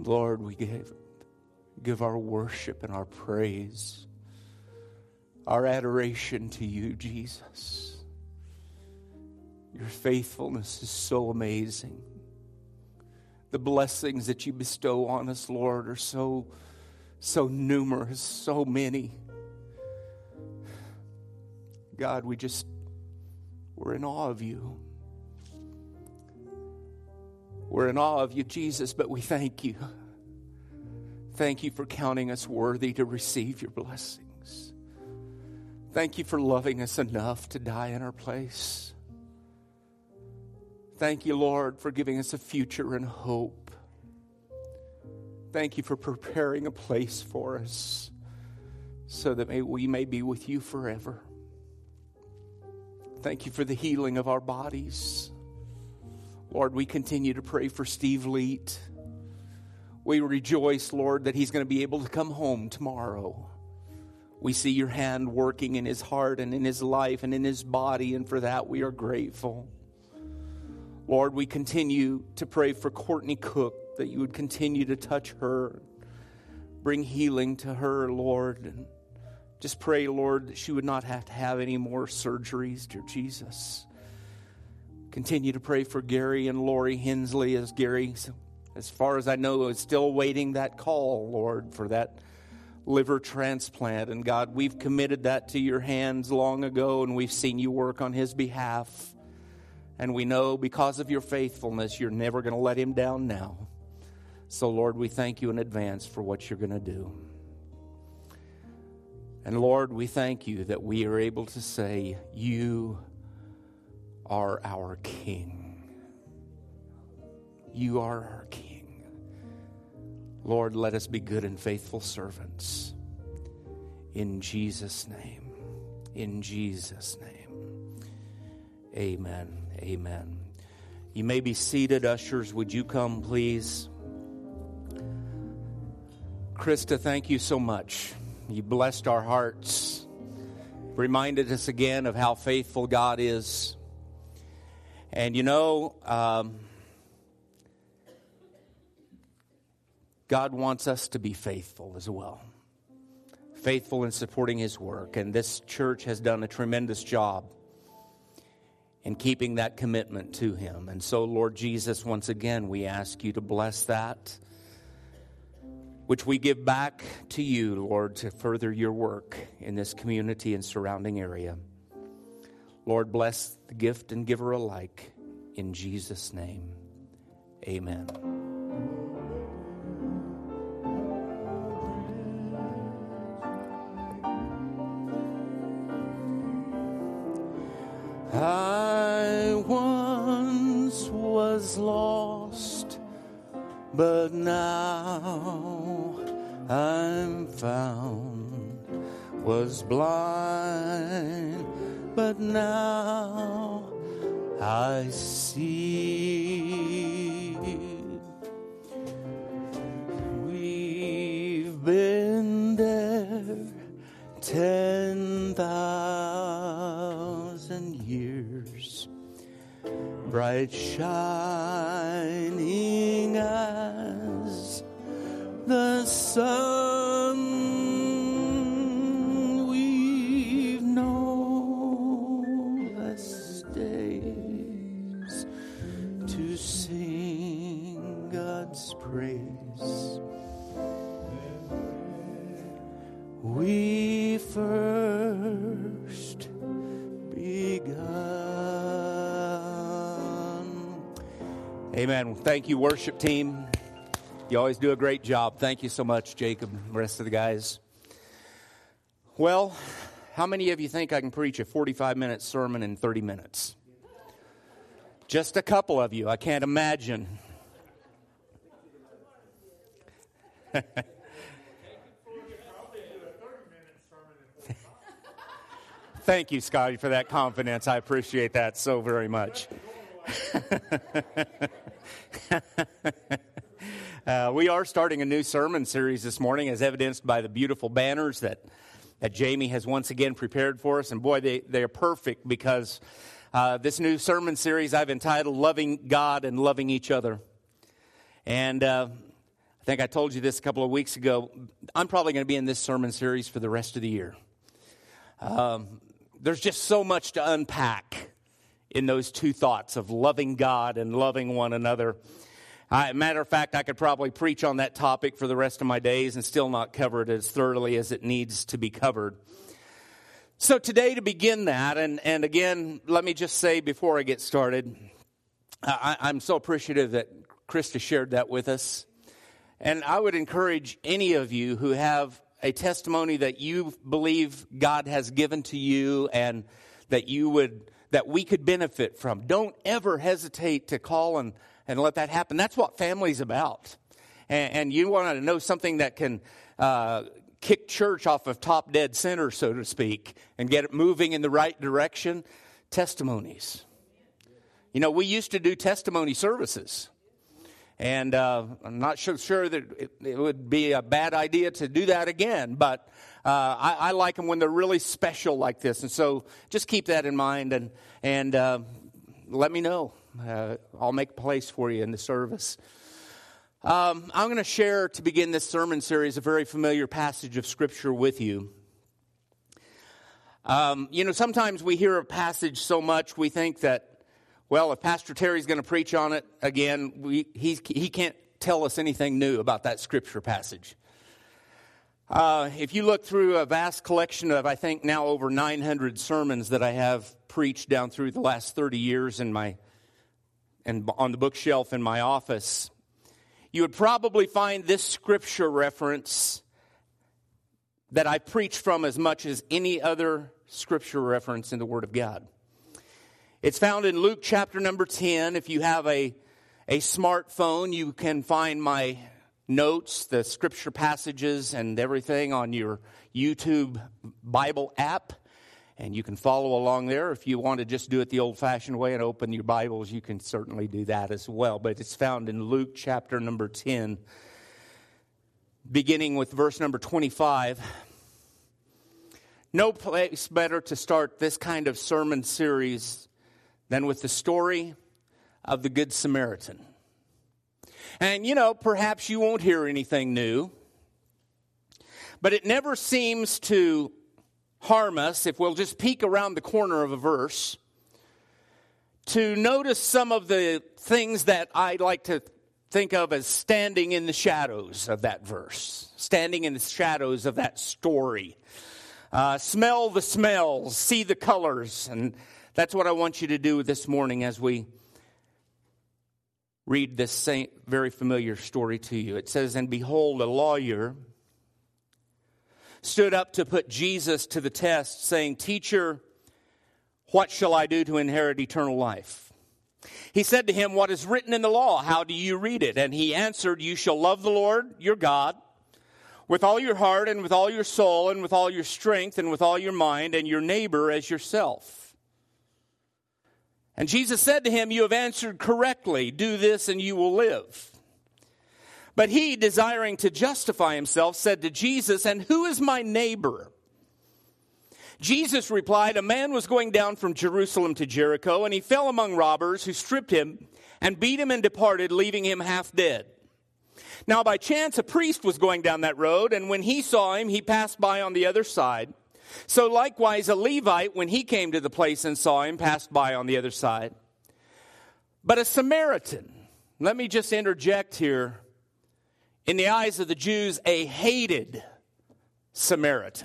Lord, we give our worship and our praise, our adoration to you, Jesus. Your faithfulness is so amazing. The blessings that you bestow on us, Lord, are so numerous, so many. God, we're in awe of you. We're in awe of you, Jesus, but we thank you. Thank you for counting us worthy to receive your blessings. Thank you for loving us enough to die in our place. Thank you, Lord, for giving us a future and hope. Thank you for preparing a place for us so that we may be with you forever. Thank you for the healing of our bodies. Lord, we continue to pray for Steve Leet. We rejoice, Lord, that he's going to be able to come home tomorrow. We see your hand working in his heart and in his life and in his body, and for that we are grateful. Lord, we continue to pray for Courtney Cook, that you would continue to touch her, bring healing to her, Lord. And just pray, Lord, that she would not have to have any more surgeries, dear Jesus. Continue to pray for Gary and Lori Hensley, as Gary, as far as I know, is still awaiting that call, Lord, for that liver transplant. And God, we've committed that to your hands long ago, and we've seen you work on his behalf. And we know because of your faithfulness, you're never going to let him down now. So, Lord, we thank you in advance for what you're going to do. And, Lord, we thank you that we are able to say, you are our King. You are our King. Lord, let us be good and faithful servants. In Jesus' name. In Jesus' name. Amen. Amen. You may be seated. Ushers, would you come, please? Krista, thank you so much. You blessed our hearts. Reminded us again of how faithful God is. And you know, God wants us to be faithful as well. Faithful in supporting his work. And this church has done a tremendous job in keeping that commitment to him. And so, Lord Jesus, once again, we ask you to bless that, which we give back to you, Lord, to further your work in this community and surrounding area. Lord, bless the gift and giver alike. In Jesus' name, amen. I once was lost, but now I'm found. Was blind, but now I see. We've been there 10,000 years, bright shining as the sun. We've no less days to sing God's praise. We first begun. Amen. Thank you, worship team. You always do a great job. Thank you so much, Jacob, and the rest of the guys. Well, how many of you think I can preach a 45-minute sermon in 30 minutes? Just a couple of you. I can't imagine. Thank you, Scotty, for that confidence. I appreciate that so very much. We are starting a new sermon series this morning, as evidenced by the beautiful banners that Jamie has once again prepared for us. And boy, they are perfect, because this new sermon series I've entitled Loving God and Loving Each Other. And I think I told you this a couple of weeks ago. I'm probably going to be in this sermon series for the rest of the year. There's just so much to unpack in those two thoughts of loving God and loving one another. Matter of fact, I could probably preach on that topic for the rest of my days and still not cover it as thoroughly as it needs to be covered. So today, to begin that, and again, let me just say before I get started, I'm so appreciative that Krista shared that with us. And I would encourage any of you who have a testimony that you believe God has given to you and that we could benefit from. Don't ever hesitate to call and let that happen. That's what family's about. And you want to know something that can kick church off of top dead center, so to speak, and get it moving in the right direction. Testimonies. You know, we used to do testimony services. And I'm not sure that it would be a bad idea to do that again. But I like them when they're really special like this. And so just keep that in mind and let me know. I'll make a place for you in the service. I'm going to share, to begin this sermon series, a very familiar passage of Scripture with you. Sometimes we hear a passage so much we think that, well, if Pastor Terry's going to preach on it again, he can't tell us anything new about that Scripture passage. If you look through a vast collection of, I think now over 900 sermons that I have preached down through the last 30 years and on the bookshelf in my office, you would probably find this Scripture reference that I preach from as much as any other Scripture reference in the Word of God. It's found in Luke chapter number 10. If you have a smartphone, you can find my notes, the scripture passages, and everything on your YouTube Bible app. And you can follow along there. If you want to just do it the old-fashioned way and open your Bibles, you can certainly do that as well. But it's found in Luke chapter number 10, beginning with verse number 25. No place better to start this kind of sermon series than with the story of the Good Samaritan. And, perhaps you won't hear anything new, but it never seems to harm us, if we'll just peek around the corner of a verse, to notice some of the things that I like to think of as standing in the shadows of that verse, standing in the shadows of that story. Smell the smells, see the colors, and that's what I want you to do this morning as we read this very familiar story to you. It says, "And behold, a lawyer stood up to put Jesus to the test, saying, 'Teacher, what shall I do to inherit eternal life?' He said to him, 'What is written in the law? How do you read it?' And he answered, 'You shall love the Lord your God with all your heart and with all your soul and with all your strength and with all your mind, and your neighbor as yourself.' And Jesus said to him, 'You have answered correctly. Do this and you will live.' But he, desiring to justify himself, said to Jesus, 'And who is my neighbor?' Jesus replied, 'A man was going down from Jerusalem to Jericho, and he fell among robbers who stripped him and beat him and departed, leaving him half dead. Now by chance a priest was going down that road, and when he saw him, he passed by on the other side. So likewise a Levite, when he came to the place and saw him, passed by on the other side. But a Samaritan,'" let me just interject here, "in the eyes of the Jews, a hated Samaritan.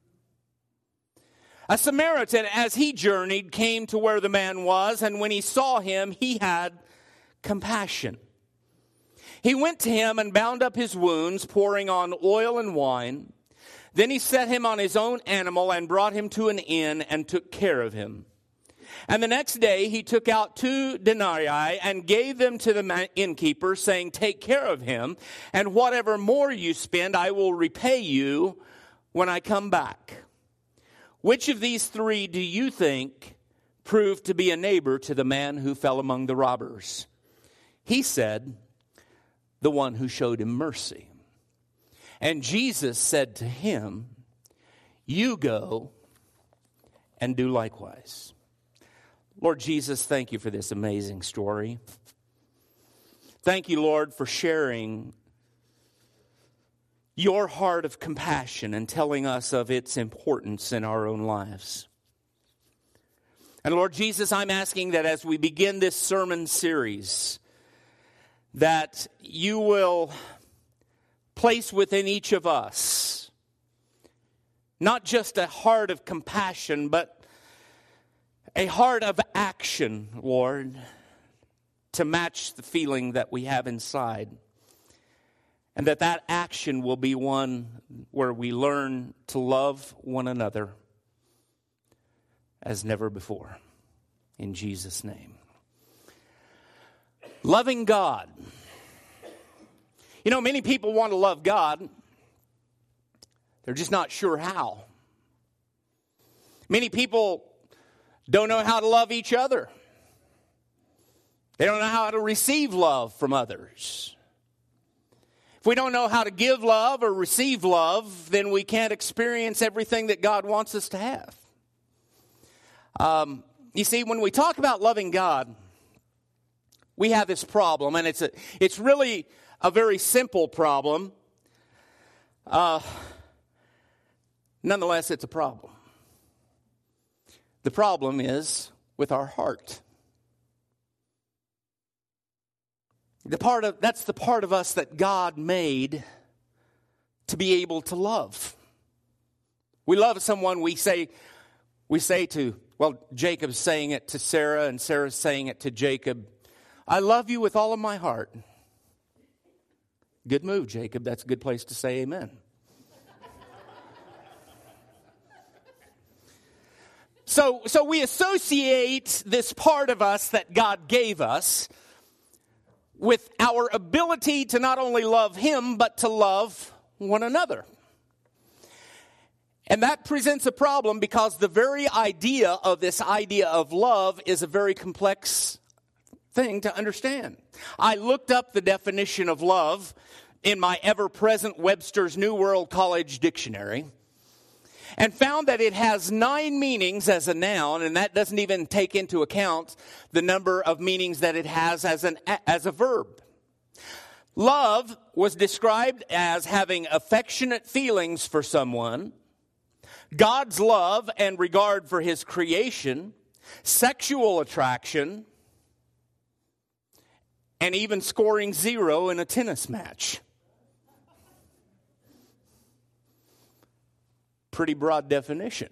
A Samaritan, as he journeyed, came to where the man was, and when he saw him, he had compassion. He went to him and bound up his wounds, pouring on oil and wine. Then he set him on his own animal and brought him to an inn and took care of him. And the next day he took out 2 denarii and gave them to the innkeeper, saying, 'Take care of him, and whatever more you spend, I will repay you when I come back.' Which of these 3 do you think proved to be a neighbor to the man who fell among the robbers?" He said, "The one who showed him mercy." And Jesus said to him, "You go and do likewise." Lord Jesus, thank you for this amazing story. Thank you, Lord, for sharing your heart of compassion and telling us of its importance in our own lives. And Lord Jesus, I'm asking that as we begin this sermon series, that you will place within each of us not just a heart of compassion, but a heart of action, Lord, to match the feeling that we have inside. And that action will be one where we learn to love one another as never before. In Jesus' name. Loving God. You know, many people want to love God. They're just not sure how. Many people don't know how to love each other. They don't know how to receive love from others. If we don't know how to give love or receive love, then we can't experience everything that God wants us to have. You see, when we talk about loving God, we have this problem, and it's really a very simple problem. Nonetheless, it's a problem. The problem is with our heart. That's the part of us that God made to be able to love. We love someone, we say to, well, Jacob's saying it to Sarah, and Sarah's saying it to Jacob, I love you with all of my heart. Good move, Jacob. That's a good place to say amen. So we associate this part of us that God gave us with our ability to not only love Him, but to love one another. And that presents a problem because the very idea of this idea of love is a very complex thing to understand. I looked up the definition of love in my ever-present Webster's New World College Dictionary and found that it has 9 meanings as a noun, and that doesn't even take into account the number of meanings that it has as a verb. Love was described as having affectionate feelings for someone, God's love and regard for His creation, sexual attraction, and even scoring 0 in a tennis match. Pretty broad definition.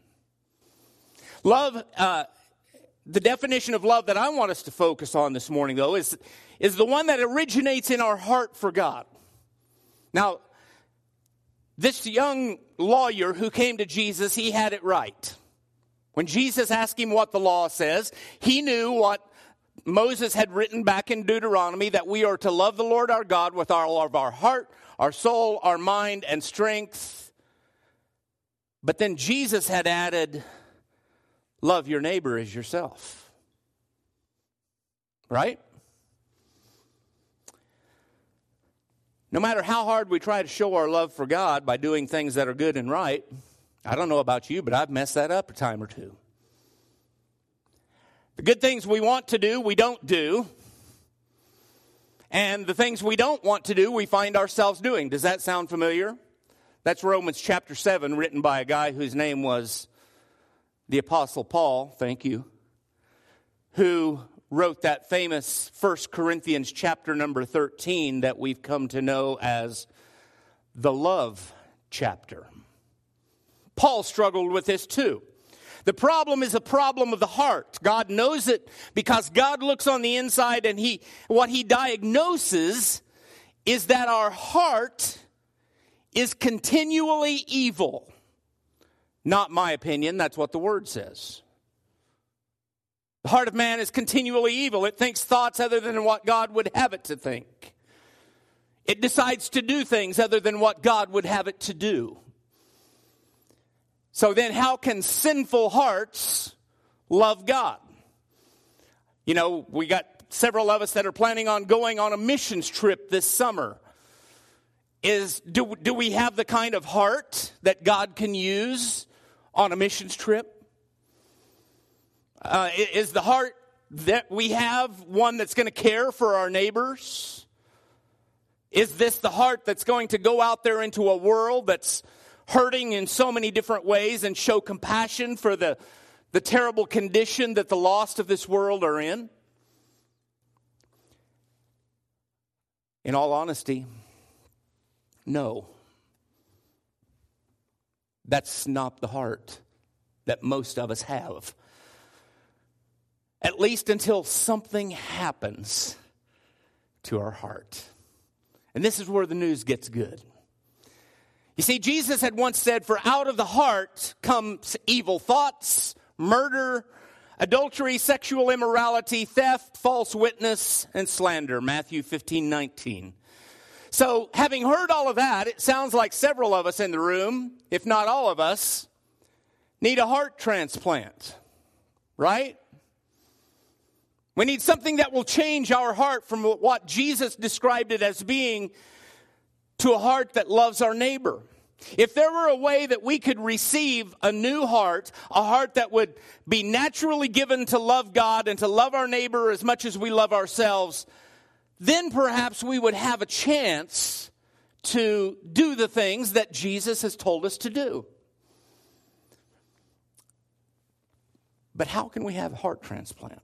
Love, the definition of love that I want us to focus on this morning, though, is the one that originates in our heart for God. Now, this young lawyer who came to Jesus, he had it right. When Jesus asked him what the law says, he knew what Moses had written back in Deuteronomy, that we are to love the Lord our God with all of our heart, our soul, our mind, and strength. But then Jesus had added, love your neighbor as yourself. Right? No matter how hard we try to show our love for God by doing things that are good and right, I don't know about you, but I've messed that up a time or two. The good things we want to do, we don't do. And the things we don't want to do, we find ourselves doing. Does that sound familiar? That's Romans chapter 7, written by a guy whose name was the Apostle Paul, thank you, who wrote that famous 1 Corinthians chapter number 13 that we've come to know as the love chapter. Paul struggled with this too. The problem is a problem of the heart. God knows it because God looks on the inside, and what He diagnoses is that our heart is continually evil. Not my opinion, that's what the Word says. The heart of man is continually evil. It thinks thoughts other than what God would have it to think. It decides to do things other than what God would have it to do. So then how can sinful hearts love God? You know, we got several of us that are planning on going on a missions trip this summer. Do we have the kind of heart that God can use on a missions trip? Is the heart that we have one that's going to care for our neighbors? Is this the heart that's going to go out there into a world that's hurting in so many different ways and show compassion for the terrible condition that the lost of this world are in? In all honesty, no. That's not the heart that most of us have. At least until something happens to our heart. And this is where the news gets good. You see, Jesus had once said, "For out of the heart comes evil thoughts, murder, adultery, sexual immorality, theft, false witness, and slander." Matthew 15:19. So, having heard all of that, it sounds like several of us in the room, if not all of us, need a heart transplant, right? We need something that will change our heart from what Jesus described it as being to a heart that loves our neighbor. If there were a way that we could receive a new heart, a heart that would be naturally given to love God and to love our neighbor as much as we love ourselves, then perhaps we would have a chance to do the things that Jesus has told us to do. But how can we have a heart transplant?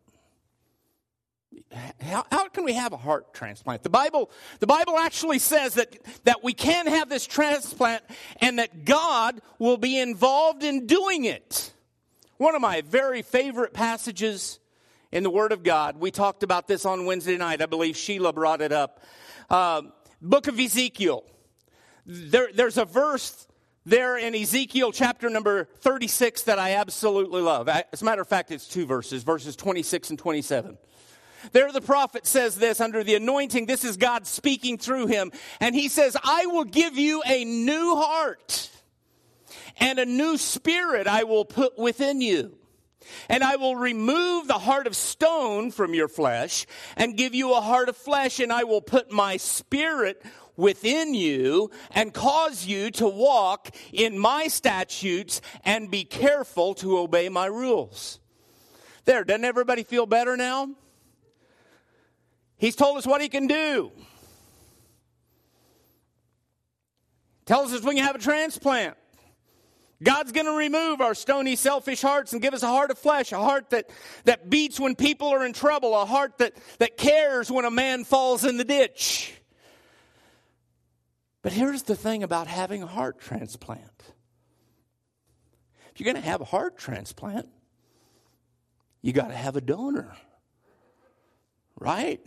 How can we have a heart transplant? The Bible actually says that we can have this transplant and that God will be involved in doing it. One of my very favorite passages in the Word of God, we talked about this on Wednesday night. I believe Sheila brought it up. Book of Ezekiel. There's a verse there in Ezekiel chapter number 36 that I absolutely love. As a matter of fact, it's two verses 26 and 27. There the prophet says this under the anointing. This is God speaking through him. And he says, "I will give you a new heart, and a new spirit I will put within you. And I will remove the heart of stone from your flesh and give you a heart of flesh. And I will put my spirit within you and cause you to walk in my statutes and be careful to obey my rules." There, doesn't everybody feel better now? He's told us what he can do. Tells us we can have a transplant. God's going to remove our stony, selfish hearts and give us a heart of flesh, a heart that beats when people are in trouble, a heart that cares when a man falls in the ditch. But here's the thing about having a heart transplant. If you're going to have a heart transplant, you got to have a donor. Right?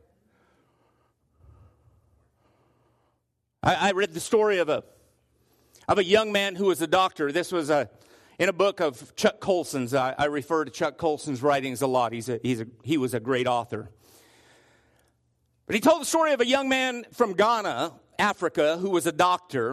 I read the story of a young man who was a doctor. This was in a book of Chuck Colson's. I refer to Chuck Colson's writings a lot. He was a great author. But he told the story of a young man from Ghana, Africa, who was a doctor.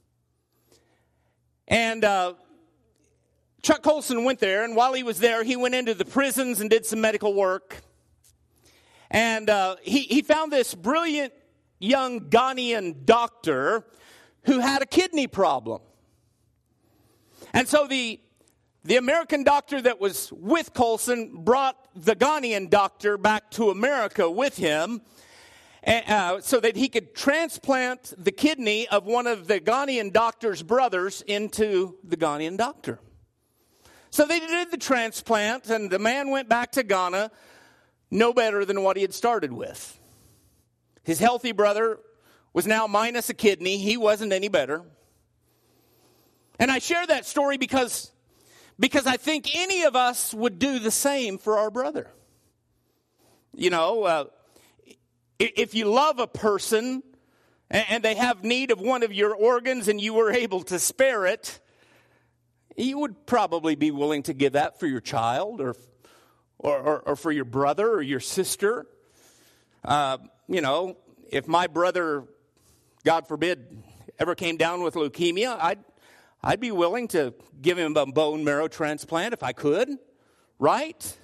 And Chuck Colson went there, and while he was there, he went into the prisons and did some medical work. And he found this brilliant young Ghanaian doctor who had a kidney problem. And so the American doctor that was with Colson brought the Ghanaian doctor back to America with him so that he could transplant the kidney of one of the Ghanaian doctor's brothers into the Ghanaian doctor. So they did the transplant, and the man went back to Ghana no better than what he had started with. His healthy brother was now minus a kidney. He wasn't any better. And I share that story because I think any of us would do the same for our brother. You know, if you love a person and they have need of one of your organs and you were able to spare it, you would probably be willing to give that for your child or for your brother or your sister. You know, if my brother, God forbid, ever came down with leukemia, I'd be willing to give him a bone marrow transplant if I could, right?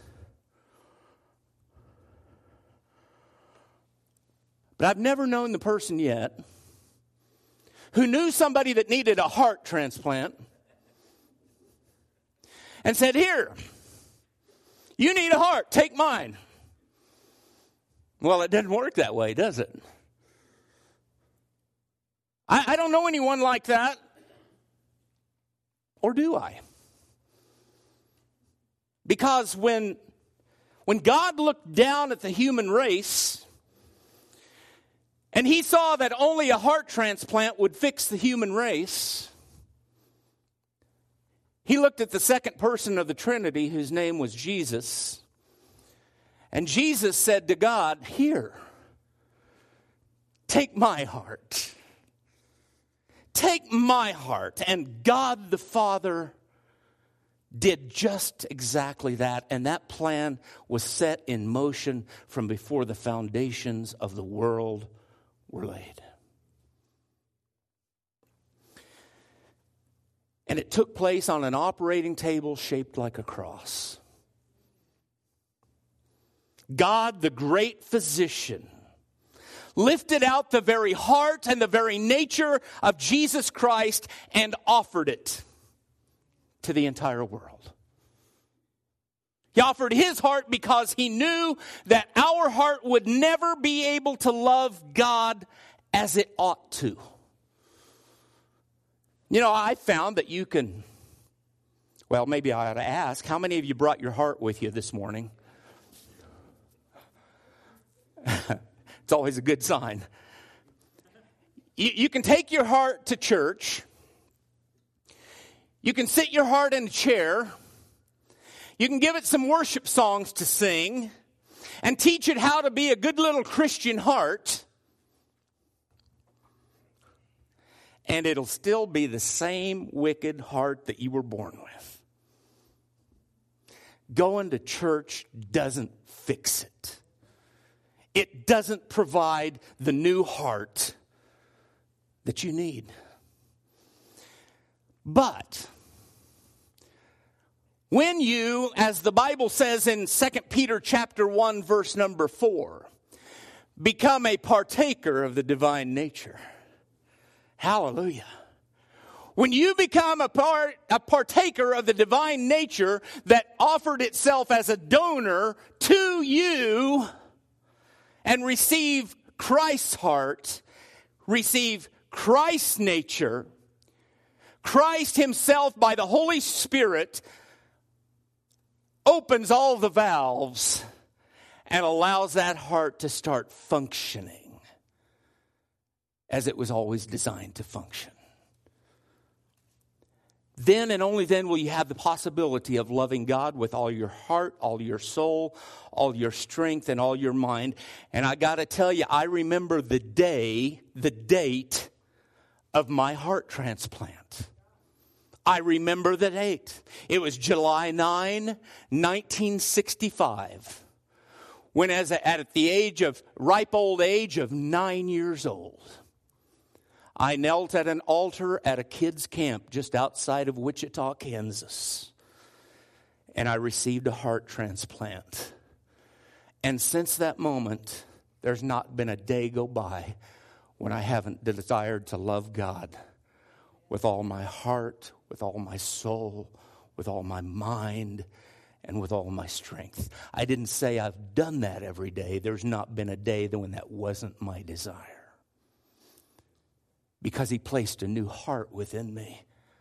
But I've never known the person yet who knew somebody that needed a heart transplant and said, "Here, you need a heart, take mine." Well, it doesn't work that way, does it? I don't know anyone like that. Or do I? Because when God looked down at the human race and he saw that only a heart transplant would fix the human race, he looked at the second person of the Trinity, whose name was Jesus. And Jesus said to God, "Here, take my heart. Take my heart." And God the Father did just exactly that. And that plan was set in motion from before the foundations of the world were laid. And it took place on an operating table shaped like a cross. God, the great physician, lifted out the very heart and the very nature of Jesus Christ and offered it to the entire world. He offered his heart because he knew that our heart would never be able to love God as it ought to. You know, I found that you can, well, maybe I ought to ask, how many of you brought your heart with you this morning? It's always a good sign. You can take your heart to church. You can sit your heart in a chair. You can give it some worship songs to sing and teach it how to be a good little Christian heart. And it'll still be the same wicked heart that you were born with. Going to church doesn't fix it. It doesn't provide the new heart that you need. But when you, as the Bible says in 2 Peter chapter 1, verse number 4, become a partaker of the divine nature. Hallelujah. When you become a partaker of the divine nature that offered itself as a donor to you and receive Christ's heart, receive Christ's nature, Christ himself by the Holy Spirit opens all the valves and allows that heart to start functioning as it was always designed to function. Then and only then will you have the possibility of loving God with all your heart, all your soul, all your strength, and all your mind. And I got to tell you, I remember the date of my heart transplant. I remember the date. It was July 9, 1965. When at the ripe old age of 9 years old, I knelt at an altar at a kids' camp just outside of Wichita, Kansas. And I received a heart transplant. And since that moment, there's not been a day go by when I haven't desired to love God with all my heart, with all my soul, with all my mind, and with all my strength. I didn't say I've done that every day. There's not been a day when that wasn't my desire. Because he placed a new heart within me.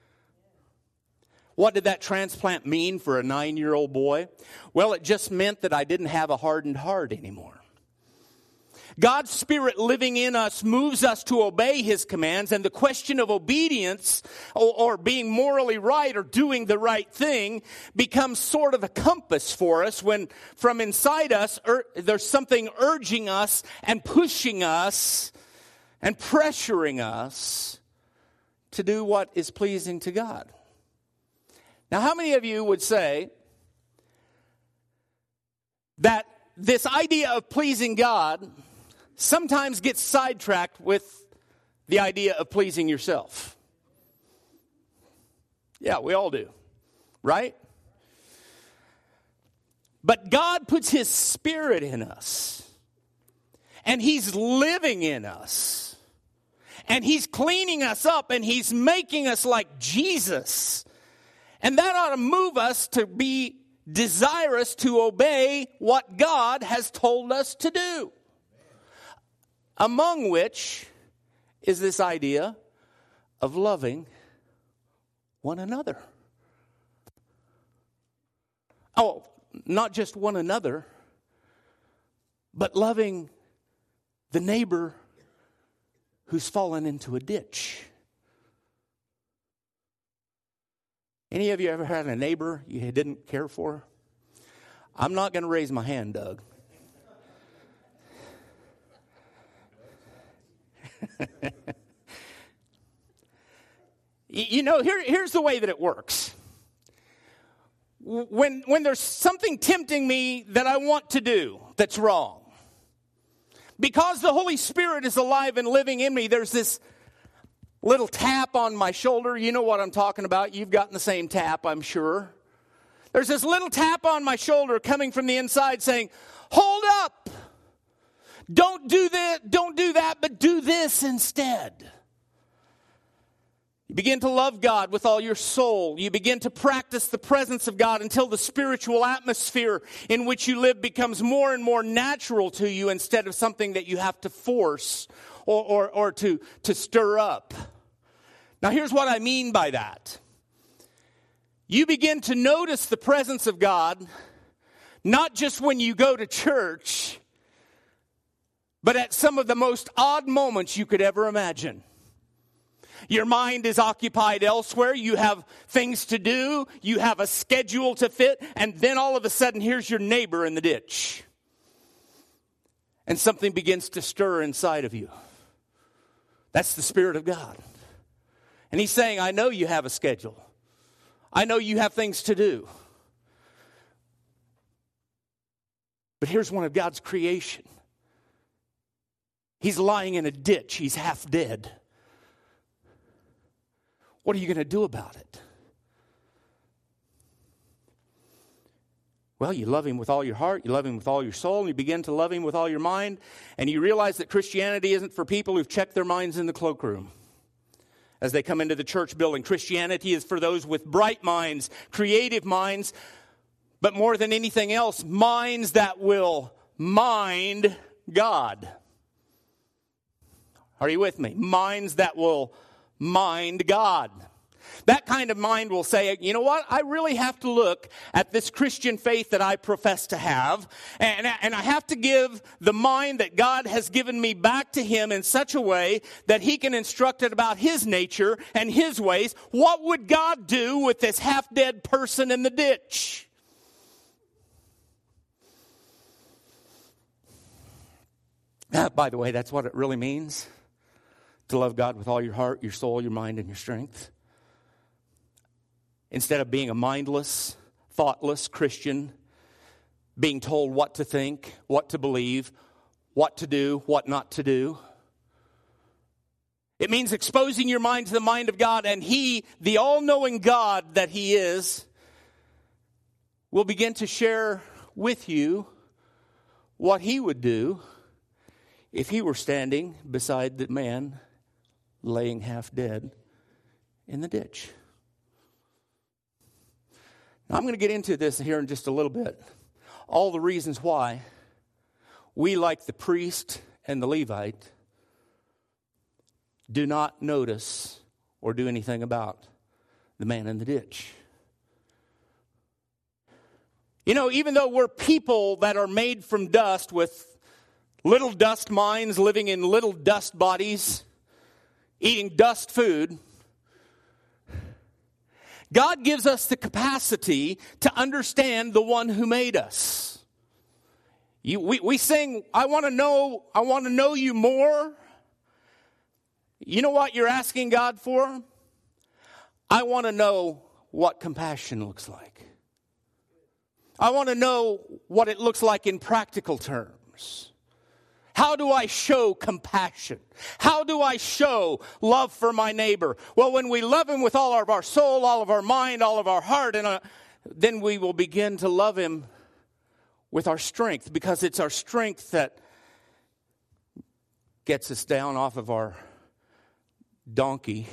What did that transplant mean for a 9-year-old boy? Well, it just meant that I didn't have a hardened heart anymore. God's Spirit living in us moves us to obey his commands, and the question of obedience or being morally right or doing the right thing becomes sort of a compass for us when from inside us there's something urging us and pushing us and pressuring us to do what is pleasing to God. Now, how many of you would say that this idea of pleasing God sometimes gets sidetracked with the idea of pleasing yourself? Yeah, we all do, right? But God puts his Spirit in us, and he's living in us. And he's cleaning us up, and he's making us like Jesus. And that ought to move us to be desirous to obey what God has told us to do. Among which is this idea of loving one another. Oh, not just one another, but loving the neighbor who's fallen into a ditch. Any of you ever had a neighbor you didn't care for? I'm not going to raise my hand, Doug. You know, here's the way that it works. When there's something tempting me that I want to do that's wrong, because the Holy Spirit is alive and living in me, there's this little tap on my shoulder. You know what I'm talking about. You've gotten the same tap, I'm sure. There's this little tap on my shoulder coming from the inside saying, hold up. Don't do that, but do this instead. You begin to love God with all your soul. You begin to practice the presence of God until the spiritual atmosphere in which you live becomes more and more natural to you instead of something that you have to force or to stir up. Now, here's what I mean by that. You begin to notice the presence of God, not just when you go to church, but at some of the most odd moments you could ever imagine. Your mind is occupied elsewhere. You have things to do. You have a schedule to fit. And then all of a sudden, here's your neighbor in the ditch. And something begins to stir inside of you. That's the Spirit of God. And He's saying, I know you have a schedule. I know you have things to do. But here's one of God's creation. He's lying in a ditch. He's half dead. What are you going to do about it? Well, you love Him with all your heart, you love Him with all your soul, and you begin to love Him with all your mind, and you realize that Christianity isn't for people who've checked their minds in the cloakroom as they come into the church building. Christianity is for those with bright minds, creative minds, but more than anything else, minds that will mind God. Are you with me? Minds that will mind God. That kind of mind will say, you know what? I really have to look at this Christian faith that I profess to have, and I have to give the mind that God has given me back to Him in such a way that He can instruct it about His nature and His ways. What would God do with this half-dead person in the ditch? By the way, that's what it really means. To love God with all your heart, your soul, your mind, and your strength. Instead of being a mindless, thoughtless Christian, being told what to think, what to believe, what to do, what not to do. It means exposing your mind to the mind of God, and He, the all-knowing God that He is, will begin to share with you what He would do if He were standing beside the man laying half dead in the ditch. Now, I'm going to get into this here in just a little bit. All the reasons why we, like the priest and the Levite, do not notice or do anything about the man in the ditch. You know, even though we're people that are made from dust with little dust minds living in little dust bodies, eating dust food, God gives us the capacity to understand the one who made us. We sing, I want to know you more. You know what you're asking God for? I want to know what compassion looks like. I want to know what it looks like in practical terms. How do I show compassion? How do I show love for my neighbor? Well, when we love Him with all of our soul, all of our mind, all of our heart, and then we will begin to love Him with our strength, because it's our strength that gets us down off of our donkey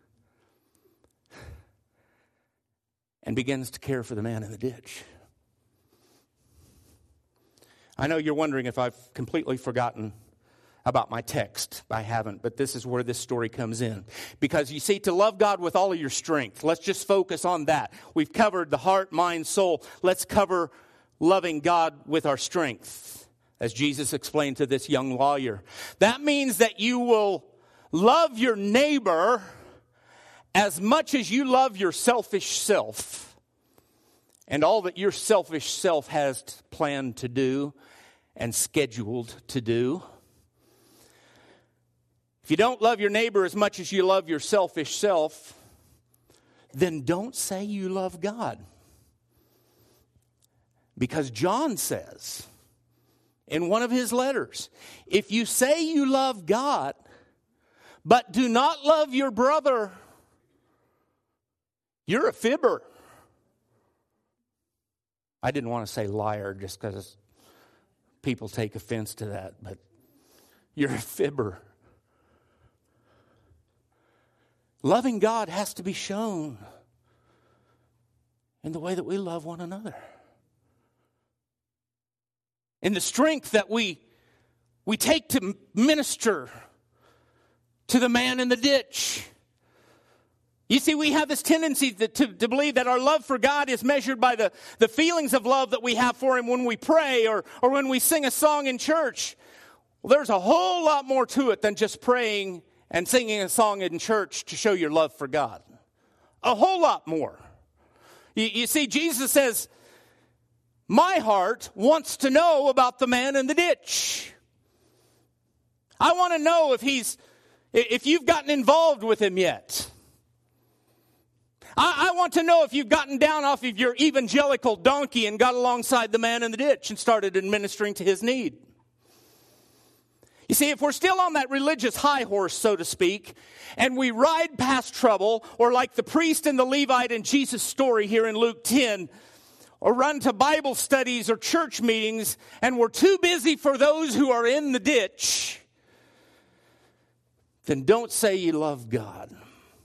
and begins to care for the man in the ditch. I know you're wondering if I've completely forgotten about my text. I haven't, but this is where this story comes in. Because you see, to love God with all of your strength, let's just focus on that. We've covered the heart, mind, soul. Let's cover loving God with our strength, as Jesus explained to this young lawyer. That means that you will love your neighbor as much as you love your selfish self and all that your selfish self has planned to do and scheduled to do. If you don't love your neighbor as much as you love your selfish self, then don't say you love God. Because John says in one of his letters, if you say you love God, but do not love your brother, you're a fibber. I didn't want to say liar just because people take offense to that, but you're a fibber. Loving God has to be shown in the way that we love one another. In the strength that we take to minister to the man in the ditch. You see, we have this tendency to believe that our love for God is measured by the feelings of love that we have for Him when we pray or when we sing a song in church. Well, there's a whole lot more to it than just praying and singing a song in church to show your love for God. A whole lot more. You see, Jesus says, my heart wants to know about the man in the ditch. I want to know if you've gotten involved with him yet. I want to know if you've gotten down off of your evangelical donkey and got alongside the man in the ditch and started administering to his need. You see, if we're still on that religious high horse, so to speak, and we ride past trouble, or like the priest and the Levite in Jesus' story here in Luke 10, or run to Bible studies or church meetings, and we're too busy for those who are in the ditch, then don't say you love God.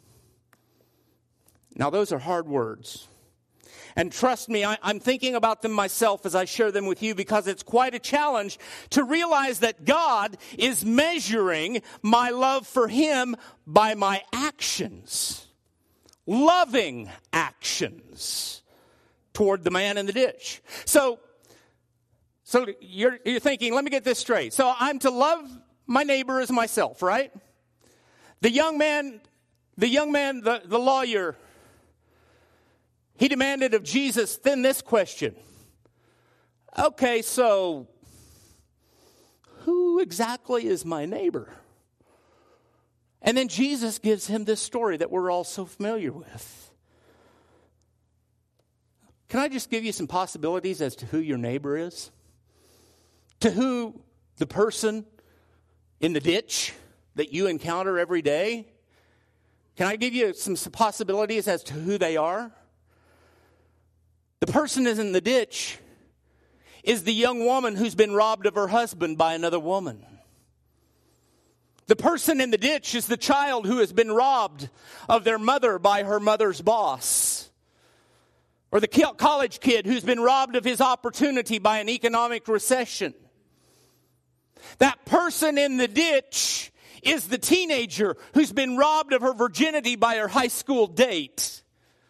Now, those are hard words. And trust me, I'm thinking about them myself as I share them with you because it's quite a challenge to realize that God is measuring my love for Him by my actions. Loving actions toward the man in the ditch. So you're thinking, let me get this straight. So I'm to love my neighbor as myself, right? The young man, the lawyer, he demanded of Jesus then this question. Okay, so who exactly is my neighbor? And then Jesus gives him this story that we're all so familiar with. Can I just give you some possibilities as to who your neighbor is? To who the person in the ditch that you encounter every day? Can I give you some possibilities as to who they are? The person is in the ditch is the young woman who's been robbed of her husband by another woman. The person in the ditch is the child who has been robbed of their mother by her mother's boss. Or the college kid who's been robbed of his opportunity by an economic recession. That person in the ditch is the teenager who's been robbed of her virginity by her high school date.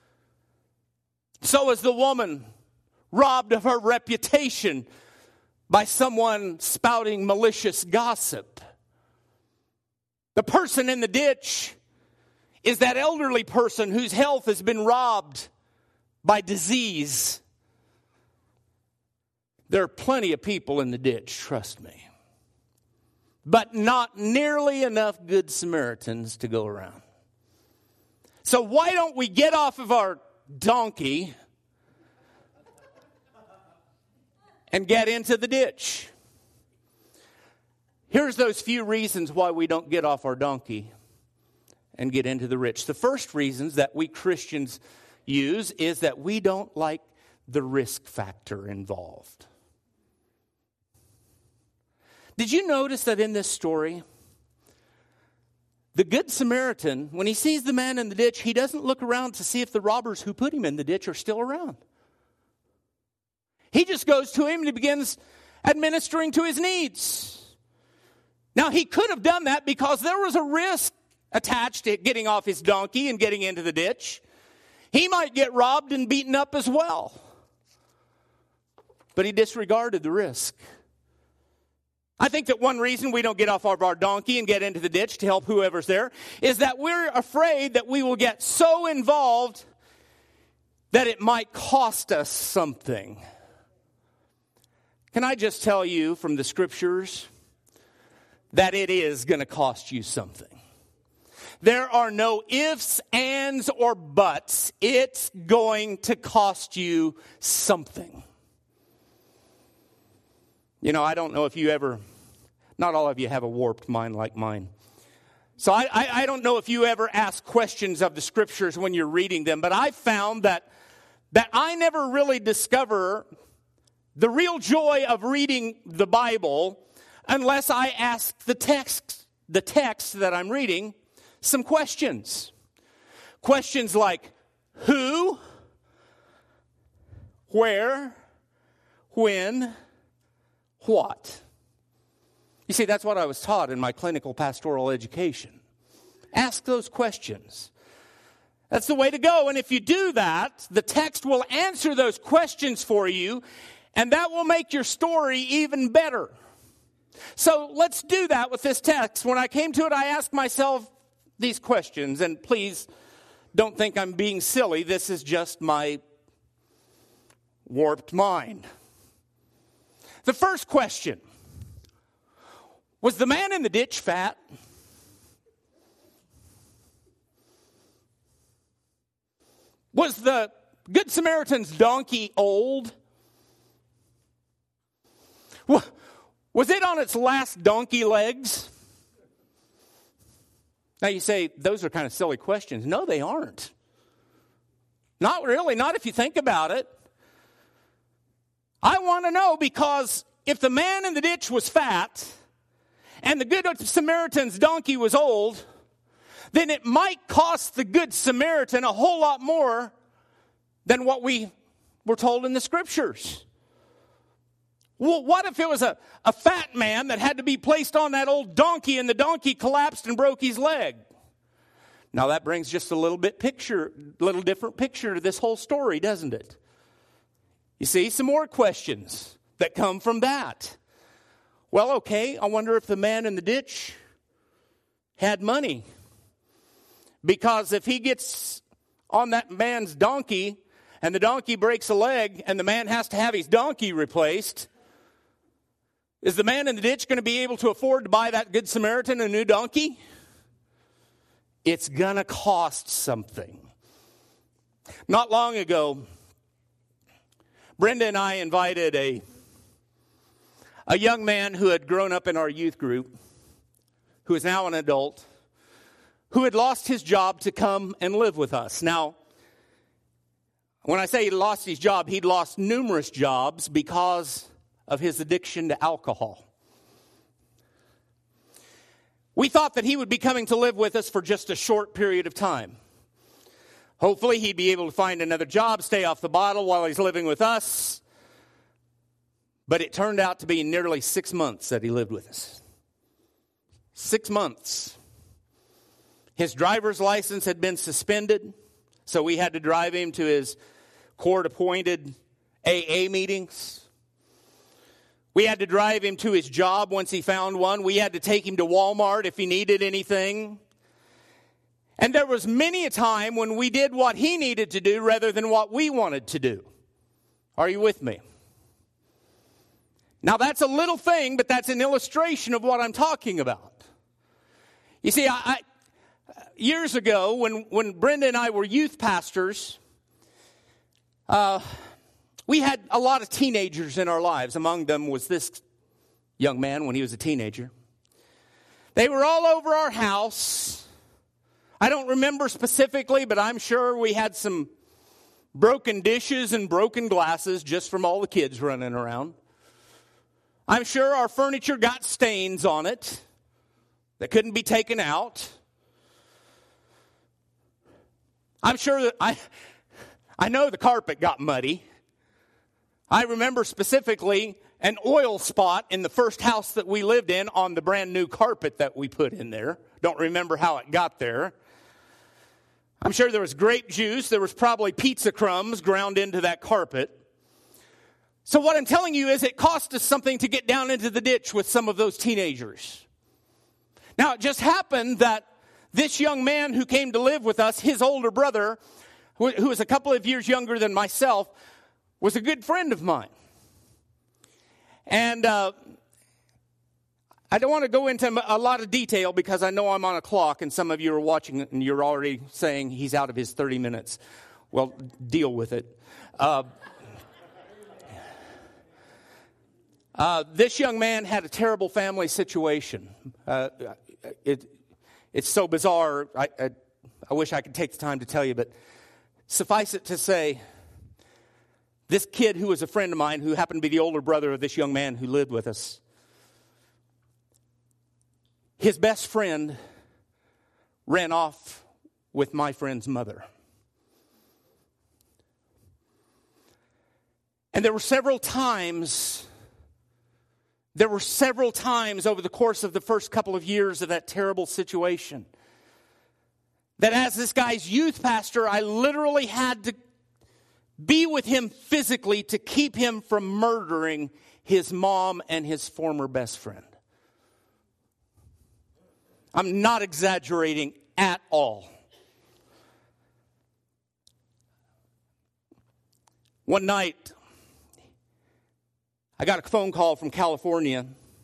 So is the woman robbed of her reputation by someone spouting malicious gossip. The person in the ditch is that elderly person whose health has been robbed by disease. There are plenty of people in the ditch, trust me. But not nearly enough good Samaritans to go around. So why don't we get off of our donkey and get into the ditch? Here's those few reasons why we don't get off our donkey and get into the ditch. The first reasons that we Christians use is that we don't like the risk factor involved. Did you notice that in this story, the Good Samaritan, when he sees the man in the ditch, he doesn't look around to see if the robbers who put him in the ditch are still around. He just goes to him and he begins administering to his needs. Now, he could have done that because there was a risk attached to getting off his donkey and getting into the ditch. He might get robbed and beaten up as well. But he disregarded the risk. I think that one reason we don't get off of our donkey and get into the ditch to help whoever's there is that we're afraid that we will get so involved that it might cost us something. Can I just tell you from the scriptures that it is going to cost you something? There are no ifs, ands, or buts. It's going to cost you something. You know, I don't know if you ever, not all of you have a warped mind like mine. So I don't know if you ever ask questions of the scriptures when you're reading them, but I found that I never really discover the real joy of reading the Bible unless I ask the text that I'm reading some questions. Questions like who, where, when, what. You see, that's what I was taught in my clinical pastoral education. Ask those questions. That's the way to go. And if you do that, the text will answer those questions for you, and that will make your story even better. So let's do that with this text. When I came to it, I asked myself these questions, and please don't think I'm being silly. This is just my warped mind. The first question: was the man in the ditch fat? Was the Good Samaritan's donkey old? Was it on its last donkey legs? Now you say, those are kind of silly questions. No, they aren't. Not really, not if you think about it. I want to know because if the man in the ditch was fat and the Good Samaritan's donkey was old, then it might cost the Good Samaritan a whole lot more than what we were told in the scriptures. Well, what if it was a fat man that had to be placed on that old donkey and the donkey collapsed and broke his leg? Now that brings just a little different picture to this whole story, doesn't it? You see, some more questions that come from that. Well, okay, I wonder if the man in the ditch had money. Because if he gets on that man's donkey and the donkey breaks a leg and the man has to have his donkey replaced, is the man in the ditch going to be able to afford to buy that Good Samaritan a new donkey? It's going to cost something. Not long ago, Brenda and I invited a young man who had grown up in our youth group, who is now an adult, who had lost his job to come and live with us. Now, when I say he lost his job, he'd lost numerous jobs because of his addiction to alcohol. We thought that he would be coming to live with us for just a short period of time. Hopefully he'd be able to find another job, stay off the bottle while he's living with us. But it turned out to be nearly 6 months that he lived with us. 6 months. His driver's license had been suspended, so we had to drive him to his court-appointed AA meetings. We had to drive him to his job once he found one. We had to take him to Walmart if he needed anything. And there was many a time when we did what he needed to do rather than what we wanted to do. Are you with me? Now that's a little thing, but that's an illustration of what I'm talking about. You see, years ago, when Brenda and I were youth pastors, we had a lot of teenagers in our lives. Among them was this young man when he was a teenager. They were all over our house. I don't remember specifically, but I'm sure we had some broken dishes and broken glasses just from all the kids running around. I'm sure our furniture got stains on it that couldn't be taken out. I'm sure that I know the carpet got muddy. I remember specifically an oil spot in the first house that we lived in on the brand new carpet that we put in there. Don't remember how it got there. I'm sure there was grape juice. There was probably pizza crumbs ground into that carpet. So what I'm telling you is it cost us something to get down into the ditch with some of those teenagers. Now, it just happened that this young man who came to live with us, his older brother, who was a couple of years younger than myself, was a good friend of mine. And I don't want to go into a lot of detail because I know I'm on a clock and some of you are watching and you're already saying he's out of his 30 minutes. Well, deal with it. This young man had a terrible family situation. It's so bizarre. I wish I could take the time to tell you, but suffice it to say, this kid who was a friend of mine, who happened to be the older brother of this young man who lived with us, his best friend ran off with my friend's mother. And there were several times over the course of the first couple of years of that terrible situation that as this guy's youth pastor, I literally had to be with him physically to keep him from murdering his mom and his former best friend. I'm not exaggerating at all. One night, I got a phone call from California.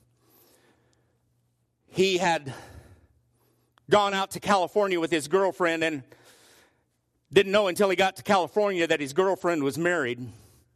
He had gone out to California with his girlfriend and didn't know until he got to California that his girlfriend was married.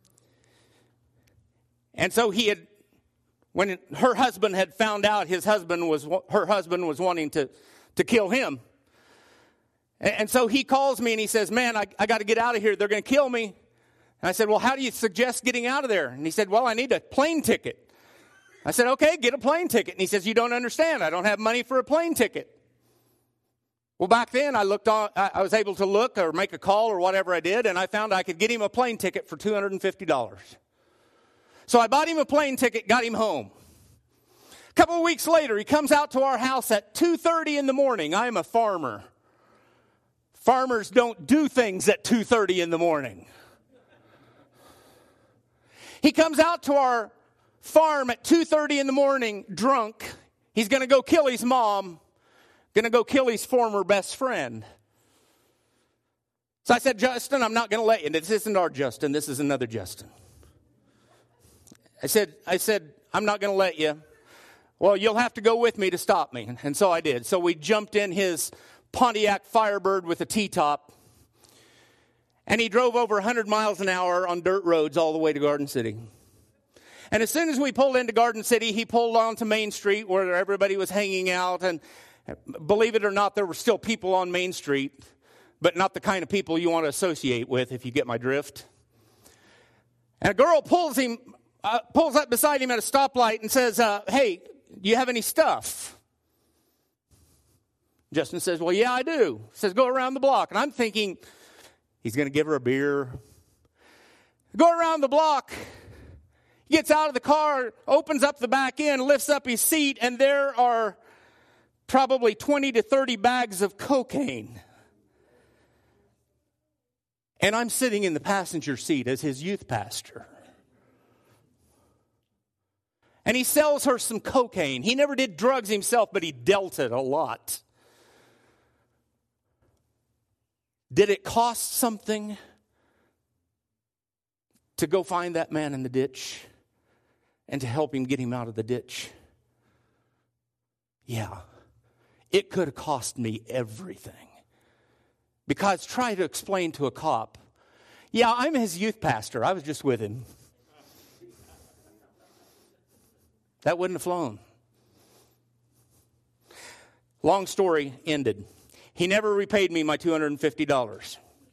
And so when her husband had found out her husband was wanting to kill him. And so he calls me and he says, man, I got to get out of here. They're going to kill me. And I said, well, how do you suggest getting out of there? And he said, well, I need a plane ticket. I said, okay, get a plane ticket. And he says, you don't understand. I don't have money for a plane ticket. Well, back then I was able to look or make a call or whatever I did, and I found I could get him a plane ticket for $250. So I bought him a plane ticket, got him home. A couple of weeks later, he comes out to our house at 2:30 in the morning. I am a farmer. Farmers don't do things at 2:30 in the morning. He comes out to our farm at 2:30 in the morning, drunk. He's going to go kill his mom, going to go kill his former best friend. So I said, Justin, I'm not going to let you. This isn't our Justin. This is another Justin. I said, I'm not going to let you. Well, you'll have to go with me to stop me. And so I did. So we jumped in his Pontiac Firebird with a T-top. And he drove over 100 miles an hour on dirt roads all the way to Garden City. And as soon as we pulled into Garden City, he pulled onto Main Street where everybody was hanging out. And believe it or not, there were still people on Main Street, but not the kind of people you want to associate with, if you get my drift. And a girl pulls up beside him at a stoplight and says, hey, do you have any stuff? Justin says, well, yeah, I do. He says, go around the block. And I'm thinking, he's going to give her a beer. Go around the block. He gets out of the car, opens up the back end, lifts up his seat, and there are probably 20 to 30 bags of cocaine. And I'm sitting in the passenger seat as his youth pastor. And he sells her some cocaine. He never did drugs himself, but he dealt it a lot. Did it cost something to go find that man in the ditch and to help him get him out of the ditch? Yeah. It could have cost me everything. Because try to explain to a cop, yeah, I'm his youth pastor. I was just with him. That wouldn't have flown. Long story ended. He never repaid me my $250.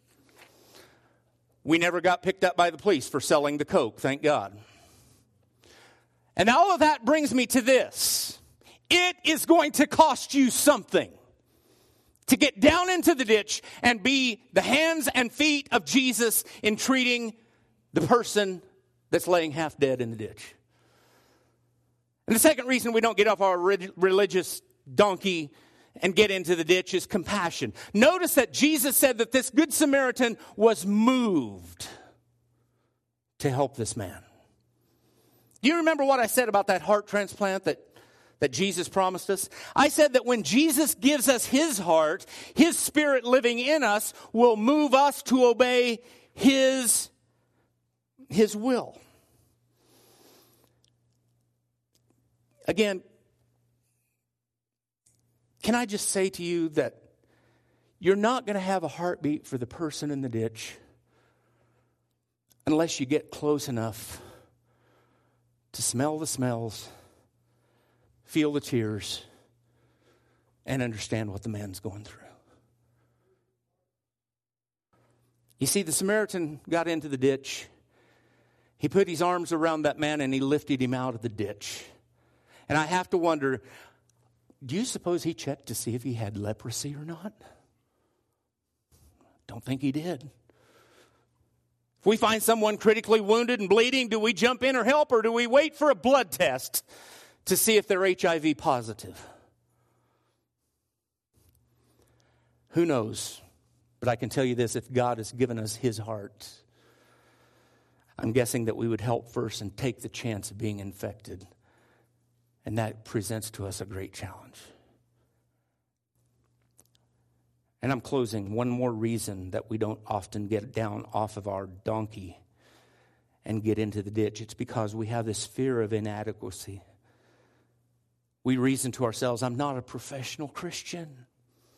We never got picked up by the police for selling the coke, thank God. And all of that brings me to this. It is going to cost you something to get down into the ditch and be the hands and feet of Jesus in treating the person that's laying half dead in the ditch. And the second reason we don't get off our religious donkey and get into the ditch is compassion. Notice that Jesus said that this Good Samaritan was moved to help this man. Do you remember what I said about that heart transplant that Jesus promised us? I said that when Jesus gives us his heart, his spirit living in us will move us to obey his will. Again, can I just say to you that you're not going to have a heartbeat for the person in the ditch unless you get close enough to smell the smells, feel the tears, and understand what the man's going through. You see, the Samaritan got into the ditch. He put his arms around that man and he lifted him out of the ditch. And I have to wonder, do you suppose he checked to see if he had leprosy or not? Don't think he did. If we find someone critically wounded and bleeding, do we jump in or help, or do we wait for a blood test to see if they're HIV positive? Who knows? But I can tell you this, if God has given us his heart, I'm guessing that we would help first and take the chance of being infected. And that presents to us a great challenge. And I'm closing. One more reason that we don't often get down off of our donkey and get into the ditch. It's because we have this fear of inadequacy. We reason to ourselves, I'm not a professional Christian.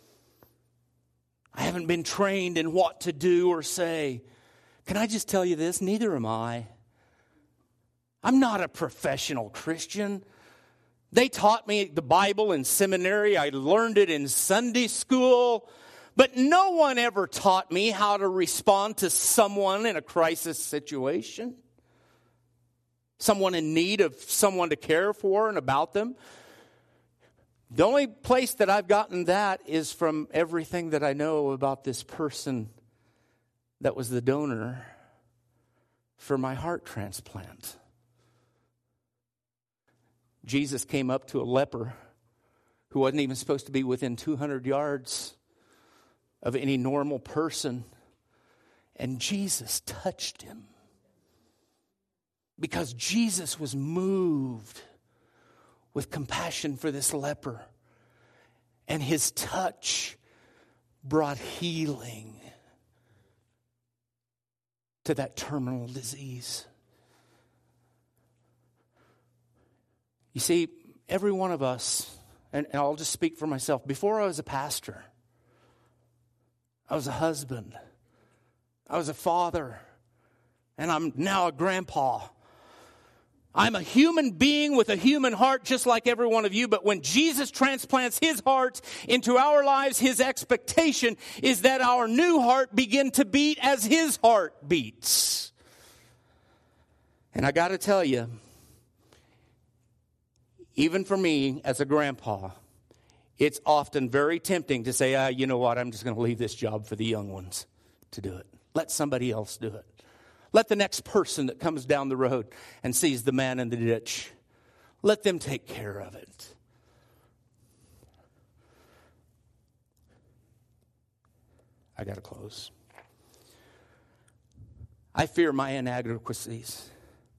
I haven't been trained in what to do or say. Can I just tell you this? Neither am I. I'm not a professional Christian. They taught me the Bible in seminary. I learned it in Sunday school. But no one ever taught me how to respond to someone in a crisis situation. Someone in need of someone to care for and about them. The only place that I've gotten that is from everything that I know about this person that was the donor for my heart transplant. Jesus came up to a leper who wasn't even supposed to be within 200 yards of any normal person. And Jesus touched him. Because Jesus was moved with compassion for this leper. And his touch brought healing to that terminal disease. You see, every one of us, and I'll just speak for myself, before I was a pastor, I was a husband, I was a father, and I'm now a grandpa. I'm a human being with a human heart just like every one of you, but when Jesus transplants his heart into our lives, his expectation is that our new heart begin to beat as his heart beats. And I got to tell you, even for me as a grandpa, it's often very tempting to say, you know what, I'm just going to leave this job for the young ones to do it. Let somebody else do it. Let the next person that comes down the road and sees the man in the ditch, let them take care of it. I got to close. I fear my inadequacies.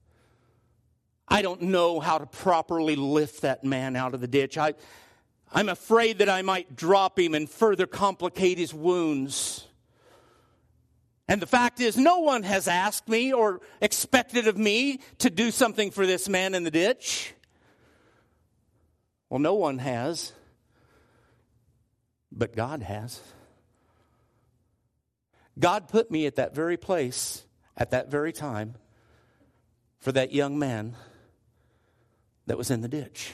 I don't know how to properly lift that man out of the ditch. I'm afraid that I might drop him and further complicate his wounds. And the fact is, no one has asked me or expected of me to do something for this man in the ditch. Well, no one has. But God has. God put me at that very place, at that very time, for that young man that was in the ditch.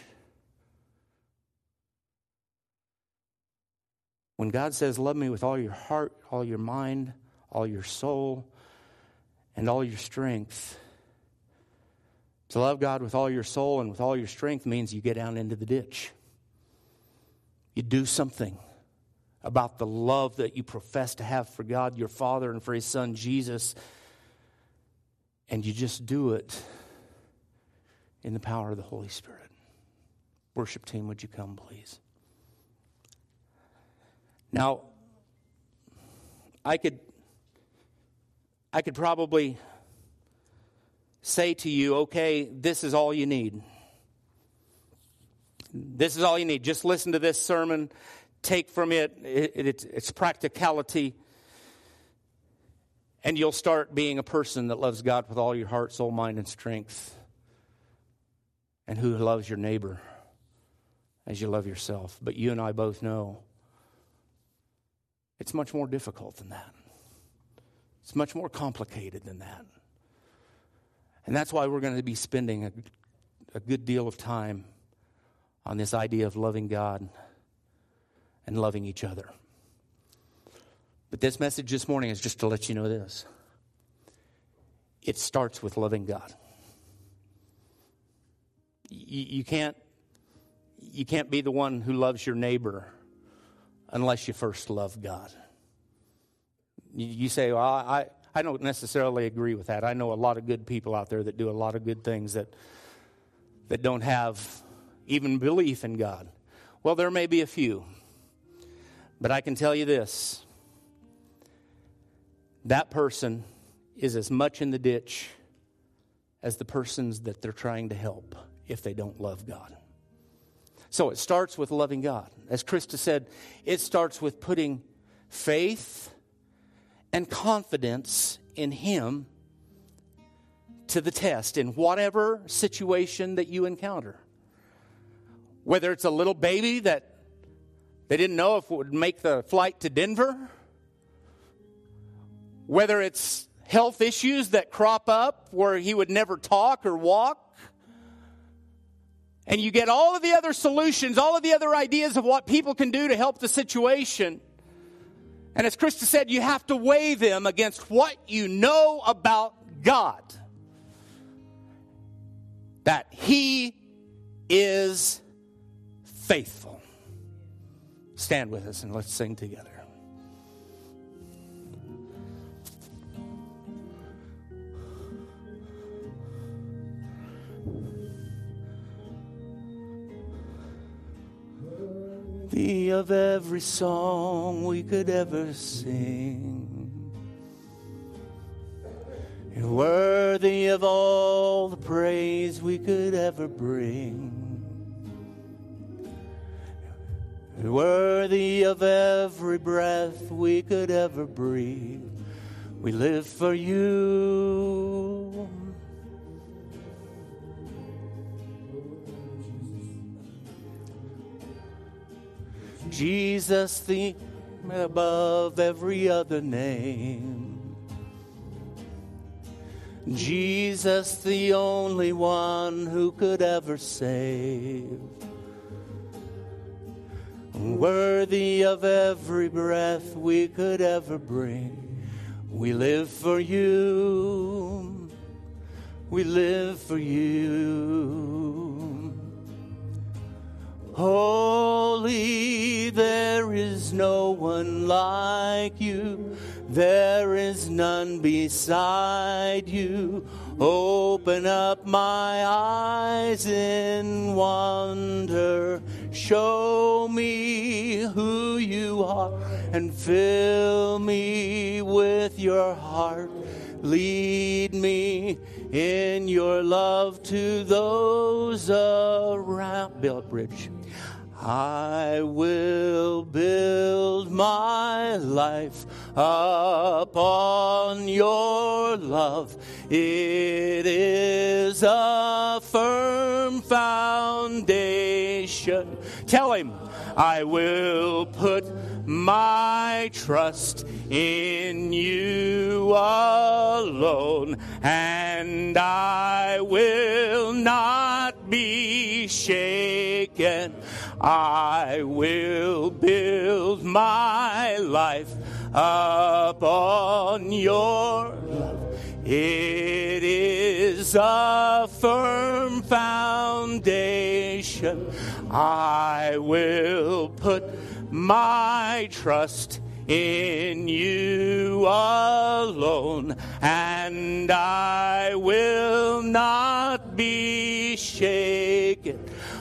When God says, love me with all your heart, all your mind, all your soul, and all your strength. To love God with all your soul and with all your strength means you get down into the ditch. You do something about the love that you profess to have for God, your Father, and for his Son, Jesus. And you just do it in the power of the Holy Spirit. Worship team, would you come, please? Now, I could probably say to you, okay, this is all you need. This is all you need. Just listen to this sermon. Take from it its practicality. And you'll start being a person that loves God with all your heart, soul, mind, and strength. And who loves your neighbor as you love yourself. But you and I both know it's much more difficult than that. It's much more complicated than that. And that's why we're going to be spending a good deal of time on this idea of loving God and loving each other. But this message this morning is just to let you know this. It starts with loving God. You can't be the one who loves your neighbor unless you first love God. You say, well, I don't necessarily agree with that. I know a lot of good people out there that do a lot of good things that don't have even belief in God. Well, there may be a few. But I can tell you this. That person is as much in the ditch as the persons that they're trying to help if they don't love God. So it starts with loving God. As Krista said, it starts with putting faith and confidence in Him to the test in whatever situation that you encounter. Whether it's a little baby that they didn't know if it would make the flight to Denver. Whether it's health issues that crop up where he would never talk or walk. And you get all of the other solutions, all of the other ideas of what people can do to help the situation. And as Krista said, you have to weigh them against what you know about God. That He is faithful. Stand with us and let's sing together. Worthy of every song we could ever sing. You're worthy of all the praise we could ever bring. You're worthy of every breath we could ever breathe. We live for you. Jesus, the above every other name. Jesus, the only one who could ever save. Worthy of every breath we could ever bring. We live for you. We live for you. Holy, there is no one like you. There is none beside you. Open up my eyes in wonder. Show me who you are and fill me with your heart. Lead me in your love to those around. Build bridge. I will build my life upon your love. It is a firm foundation. Tell him, I will put my trust in you alone, and I will not be shaken. I will build my life upon your love. It is a firm foundation. I will put my trust in you alone, and I will not be shaken.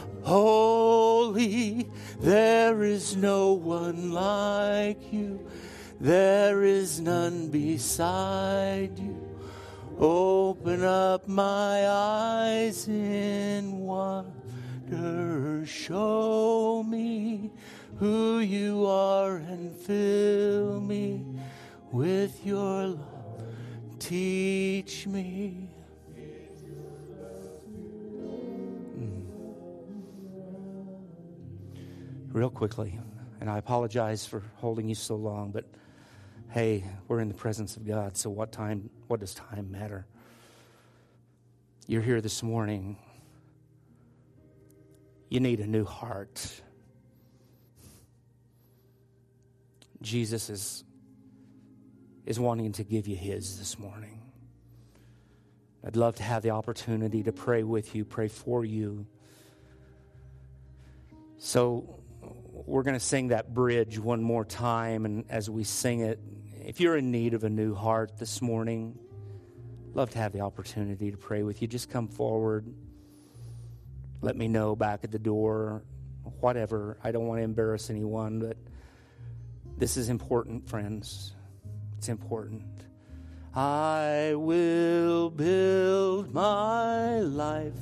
Holy, there is no one like you. There is none beside you. Open up my eyes in wonder. Show me who you are and fill me with your love. Teach me. Real quickly, and I apologize for holding you so long, but hey, we're in the presence of God, so what does time matter? You're here this morning. You need a new heart. Jesus is wanting to give you his this morning. I'd love to have the opportunity to pray with you, pray for you. So we're going to sing that bridge one more time, and as we sing it, if you're in need of a new heart this morning, I'd love to have the opportunity to pray with you. Just come forward. Let me know back at the door, whatever. I don't want to embarrass anyone, but this is important, friends. It's important. I will build my life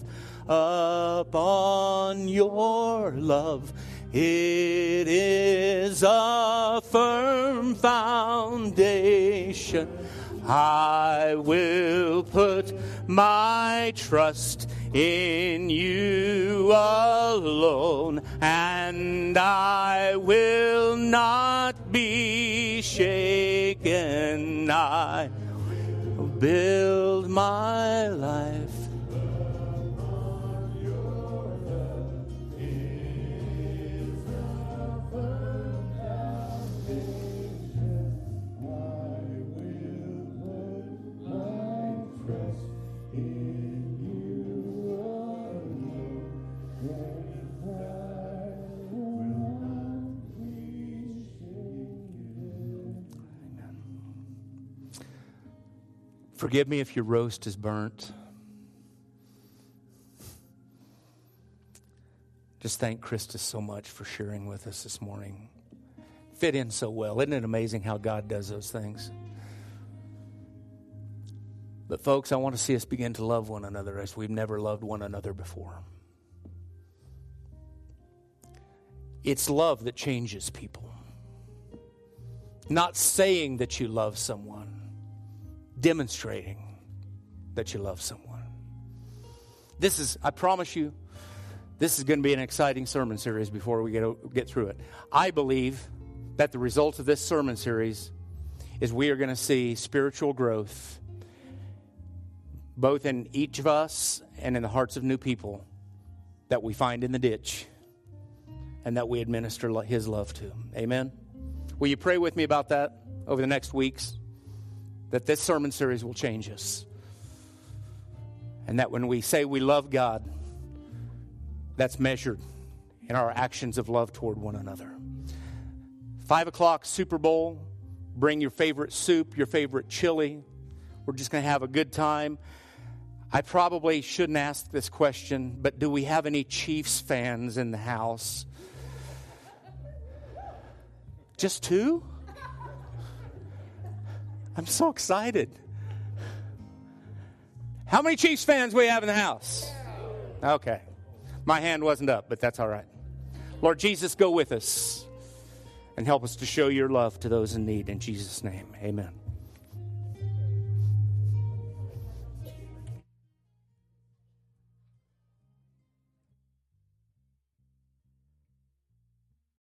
upon your love. It is a firm foundation. I will put my trust in you alone, and I will not be shaken. I will build my life. Forgive me if your roast is burnt. Just thank Krista so much for sharing with us this morning. Fit in so well. Isn't it amazing how God does those things? But folks, I want to see us begin to love one another as we've never loved one another before. It's love that changes people. Not saying that you love someone. Demonstrating that you love someone. I promise you, this is going to be an exciting sermon series before we get through it. I believe that the result of this sermon series is we are going to see spiritual growth both in each of us and in the hearts of new people that we find in the ditch and that we administer his love to. Amen? Will you pray with me about that over the next weeks? That this sermon series will change us. And that when we say we love God, that's measured in our actions of love toward one another. 5 o'clock Super Bowl. Bring your favorite soup, your favorite chili. We're just going to have a good time. I probably shouldn't ask this question, but do we have any Chiefs fans in the house? Just 2? I'm so excited. How many Chiefs fans we have in the house? Okay. My hand wasn't up, but that's all right. Lord Jesus, go with us and help us to show your love to those in need. In Jesus' name, amen.